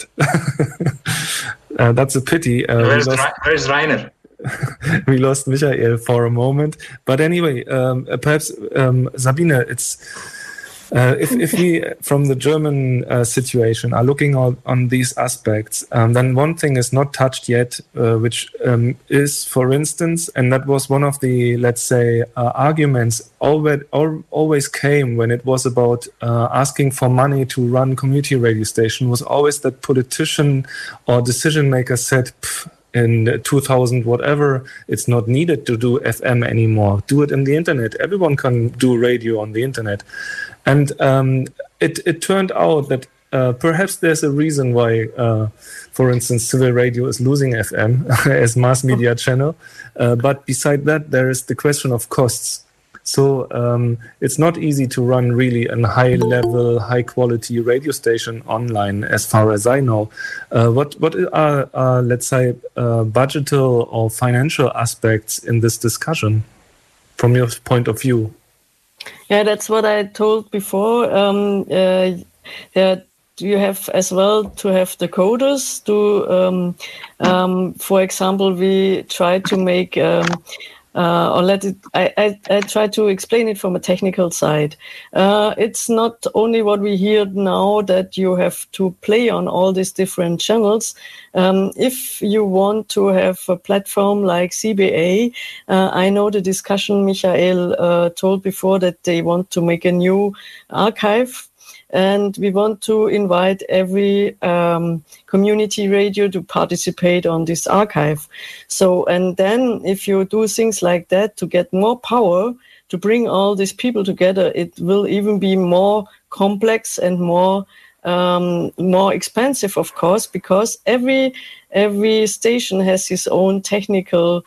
Speaker 3: uh, that's a pity. Uh,
Speaker 5: where's, lost, where's Rainer?
Speaker 3: We lost Michael for a moment. But anyway, um, perhaps um, Sabine, it's uh, if if we from the German uh, situation are looking on, on these aspects, um, then one thing is not touched yet, uh, which um, is, for instance, and that was one of the, let's say, uh, arguments always always came when it was about uh, asking for money to run community radio station, was always that politician or decision maker said, in two thousand whatever, it's not needed to do F M anymore. Do it in the internet. Everyone can do radio on the internet. And um, it, it turned out that uh, perhaps there's a reason why, uh, for instance, civil radio is losing F M as mass media channel. Uh, but beside that, there is the question of costs. So um, it's not easy to run really a high-level, high-quality radio station online, as far as I know. Uh, what what are, uh, let's say, uh, budgetal or financial aspects in this discussion, from your point of view?
Speaker 6: Yeah, that's what I told before. Um, uh, that you have as well to have the coders. To, um, um, for example, we try to make. Um, Uh, or let it, I, I, I try to explain it from a technical side. Uh, it's not only what we hear now that you have to play on all these different channels. Um, if you want to have a platform like C B A, uh, I know the discussion Michael uh, told before that they want to make a new archive. And we want to invite every um, community radio to participate on this archive. So, and then if you do things like that to get more power, to bring all these people together, it will even be more complex and more um, more expensive, of course, because every every station has its own technical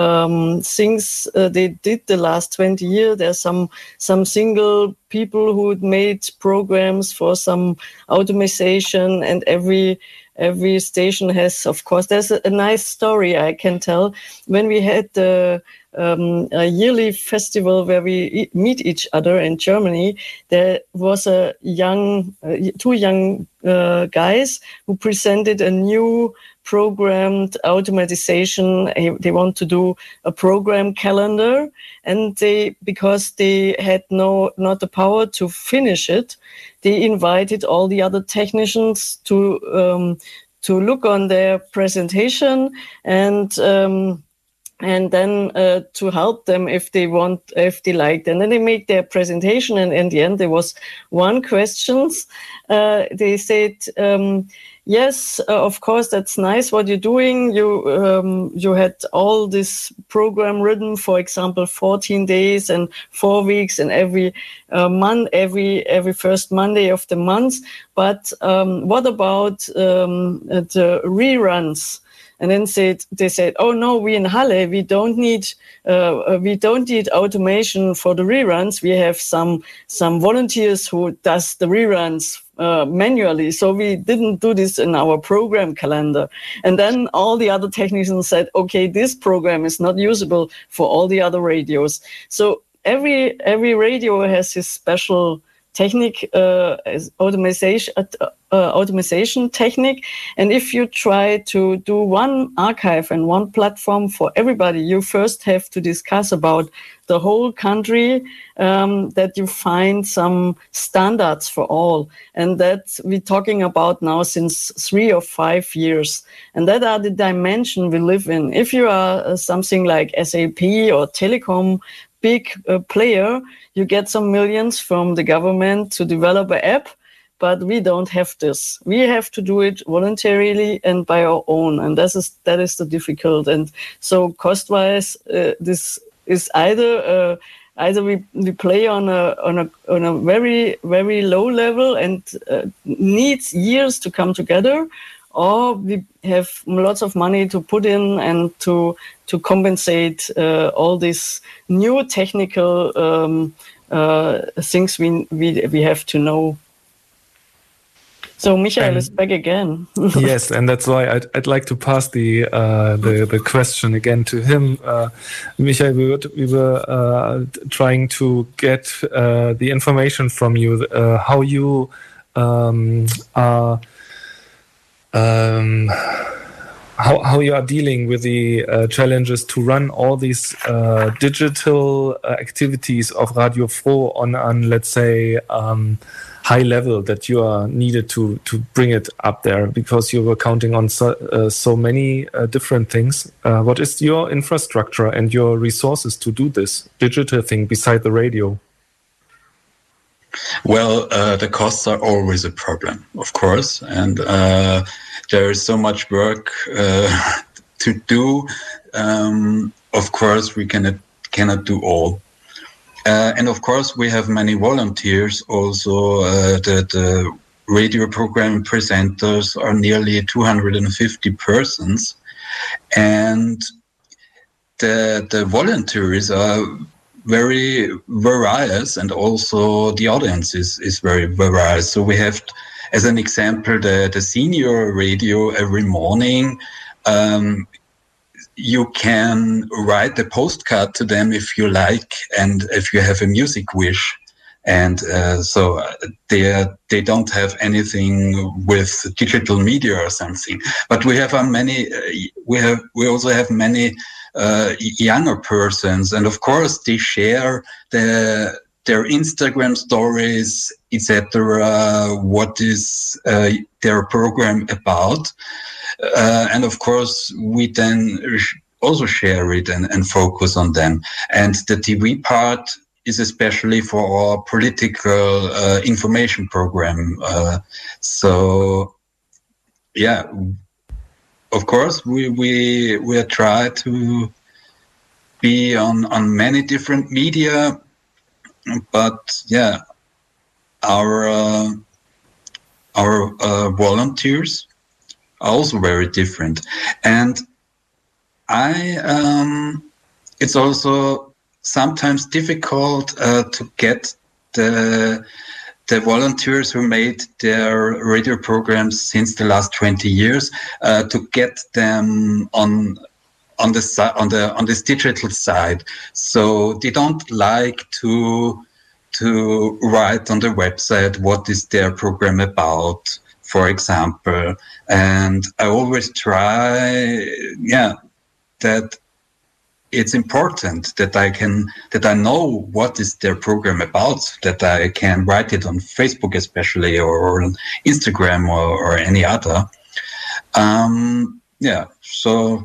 Speaker 6: um, things uh, they did the last twenty years. There's some some single people who made programs for some automation, and every every station has, of course, there's a, a nice story I can tell. When we had the um, a yearly festival where we e- meet each other in Germany, there was a young, uh, two young uh, guys who presented a new programmed automatization. They want to do a program calendar, and they, because they had no, not the power to finish it, they invited all the other technicians to, um, to look on their presentation and, um, and then uh, to help them if they want, if they liked. And then they made their presentation, and in the end there was one questions. Uh, they said, um, yes, uh, of course, that's nice what you're doing. You um, you had all this program written, for example, fourteen days and four weeks, and every uh, month, every every first Monday of the month. But um, what about um, the reruns? And then said, they said, oh no, we in Halle, we don't need, uh, we don't need automation for the reruns. We have some, some volunteers who does the reruns, uh, manually. So we didn't do this in our program calendar. And then all the other technicians said, okay, this program is not usable for all the other radios. So every, every radio has his special technique, uh, automation, uh, uh, automation technique. And if you try to do one archive and one platform for everybody, you first have to discuss about the whole country, um, that you find some standards for all. And that we're talking about now since three or five years. And that are the dimension we live in. If you are uh, something like S A P or Telecom, big uh, player, you get some millions from the government to develop an app, but we don't have this. We have to do it voluntarily and by our own, and that is that is the difficult. And so cost-wise, uh, this is either uh, either we, we play on a on a on a very very low level and uh, needs years to come together, or we have lots of money to put in and to to compensate uh, all these new technical um, uh, things we, we we have to know. So Michael and, is back again.
Speaker 3: Yes, and that's why I'd, I'd like to pass the uh, the, the question again to him. Uh, Michael, we were, we were uh, trying to get uh, the information from you, uh, how you um, are um, how how you are dealing with the uh, challenges to run all these uh, digital uh, activities of Radio Froh on on let's say. Um, high level that you are needed to to bring it up there, because you were counting on so, uh, so many uh, different things. Uh, what is your infrastructure and your resources to do this digital thing beside the radio?
Speaker 7: Well, uh, the costs are always a problem, of course, and uh, there is so much work uh, to do. Um, of course, we cannot cannot do all. Uh, and of course, we have many volunteers also. Uh, the, the radio program presenters are nearly two hundred fifty persons. And the, the volunteers are very various, and also the audience is, is very various. So we have, as an example, the, the senior radio every morning. Um, You can write a postcard to them if you like, and if you have a music wish. And uh, so they are, they don't have anything with digital media or something. But we have uh, many. Uh, we have we also have many uh, younger persons, and of course they share the, their Instagram stories, et cetera. What is uh, their program about? Uh, and of course, we then also share it and, and focus on them. And the T V part is especially for our political uh, information program. Uh, so, yeah, of course, we we we try to be on on many different media, but yeah, our uh, our uh, volunteers are also very different. And I, um, it's also sometimes difficult uh, to get the the volunteers who made their radio programs since the last twenty years uh, to get them on on the si- on the on this digital side. So they don't like to to write on the website what is their program about, for example. And I always try, yeah, that it's important that I can, that I know what is their program about, that I can write it on Facebook especially, or on Instagram, or, or any other. Um, yeah, so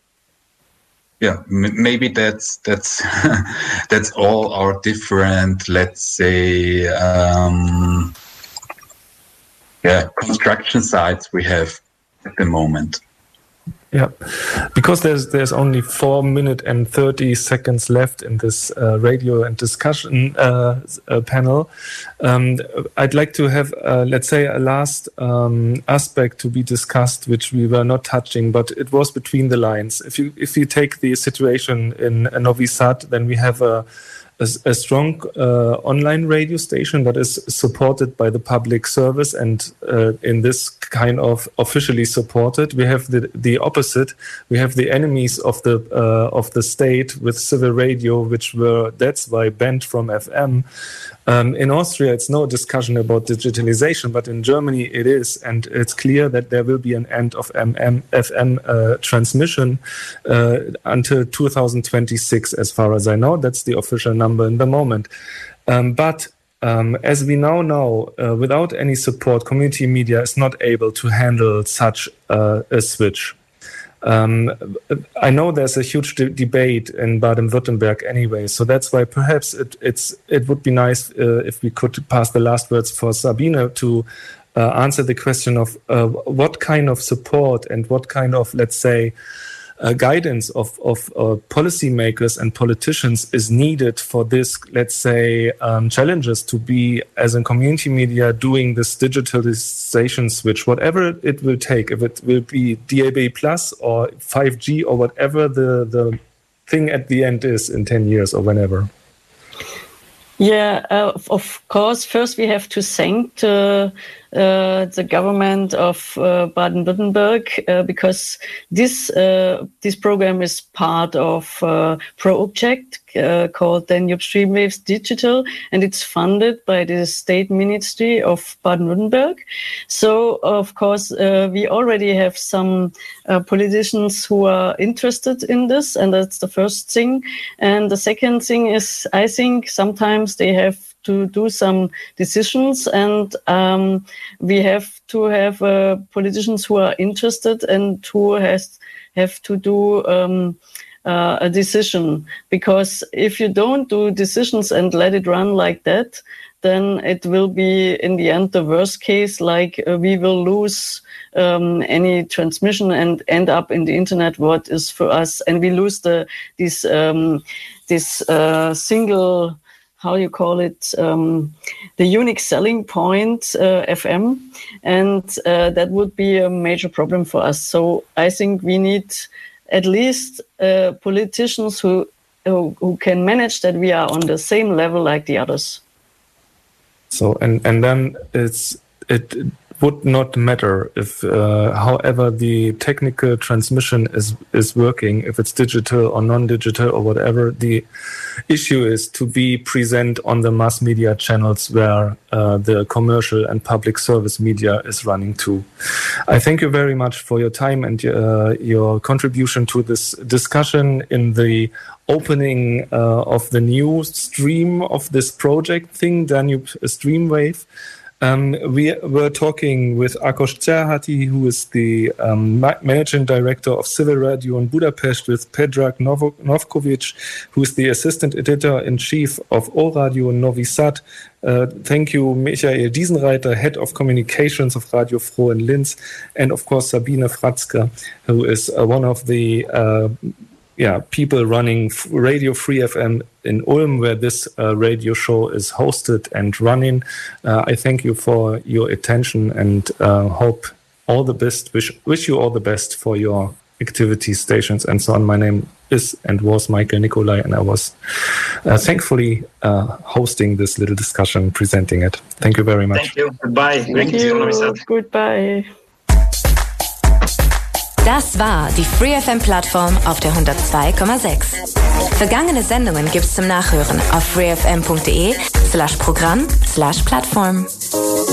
Speaker 7: yeah, m- maybe that's that's that's all our different, let's say, um, yeah, construction sites we have at the moment.
Speaker 3: Yeah, because there's there's only four minutes and thirty seconds left in this uh, radio and discussion uh, uh, panel. Um, I'd like to have, uh, let's say, a last um, aspect to be discussed, which we were not touching, but it was between the lines. If you if you take the situation in Novi Sad, then we have a A, a strong uh, online radio station that is supported by the public service, and uh, in this kind of officially supported. We have the the opposite. We have the enemies of the uh, of the state with civil radio, which were that's why banned from F M. Um, in Austria, it's no discussion about digitalization, but in Germany it is, and it's clear that there will be an end of M M, F M uh, transmission uh, until two thousand twenty-six, as far as I know. That's the official number in the moment. Um, but um, as we now know, uh, without any support, community media is not able to handle such uh, a switch. Um, I know there's a huge de- debate in Baden-Württemberg anyway, so that's why perhaps it, it's it would be nice uh, if we could pass the last words for Sabine to uh, answer the question of uh, what kind of support and what kind of, let's say, uh, guidance of, of uh, policymakers and politicians is needed for this, let's say, um, challenges to be, as a community media, doing this digitalization switch, whatever it will take, if it will be D A B plus or five G or whatever the, the thing at the end is in ten years or whenever.
Speaker 6: Yeah, uh, of course, first we have to thank uh, uh, the government of uh, Baden-Württemberg uh, because this uh, this program is part of a project uh, called Danube Streamwaves Digital, and it's funded by the State Ministry of Baden-Württemberg. So, of course, uh, we already have some uh, politicians who are interested in this, and that's the first thing. And the second thing is, I think sometimes they have to do some decisions, and um, we have to have uh, politicians who are interested and who has have to do um, uh, a decision. Because if you don't do decisions and let it run like that, then it will be in the end the worst case. Like uh, we will lose um, any transmission and end up in the internet. What is for us, and we lose the this um, this uh, single. How you call it, um, the unique selling point, uh, F M, and uh, that would be a major problem for us. So I think we need at least uh, politicians who, who who can manage that we are on the same level like the others.
Speaker 3: So and and then it's it. would not matter if, uh, however, the technical transmission is, is working, if it's digital or non-digital or whatever. The issue is to be present on the mass media channels where uh, the commercial and public service media is running to. I thank you very much for your time and uh, your contribution to this discussion in the opening uh, of the new stream of this project thing, Danube Streamwave. Um, we were talking with Ákos Cserháti, who is the um, ma- managing director of Civil Radio in Budapest, with Predrag Novo- Novkovic, who is the assistant editor-in-chief of O Radio in Novi Sad. Uh, thank you, Michael Diesenreiter, head of communications of Radio Froh in Linz, and of course Sabine Fratzke, who is uh, one of the uh, yeah, people running Radio Free F M in Ulm, where this uh, radio show is hosted and running. Uh, I thank you for your attention and uh, hope all the best. Wish wish you all the best for your activities, stations, and so on. My name is and was Michael Nicolai, and I was uh, thankfully uh, hosting this little discussion, presenting it. Thank you very much.
Speaker 5: Thank you. Goodbye.
Speaker 6: Thank you. Goodbye.
Speaker 1: Das war die Free F M-Plattform auf der hundertzwei Komma sechs. Vergangene Sendungen gibt's zum Nachhören auf freefm punkt de slash Programm slash Plattform.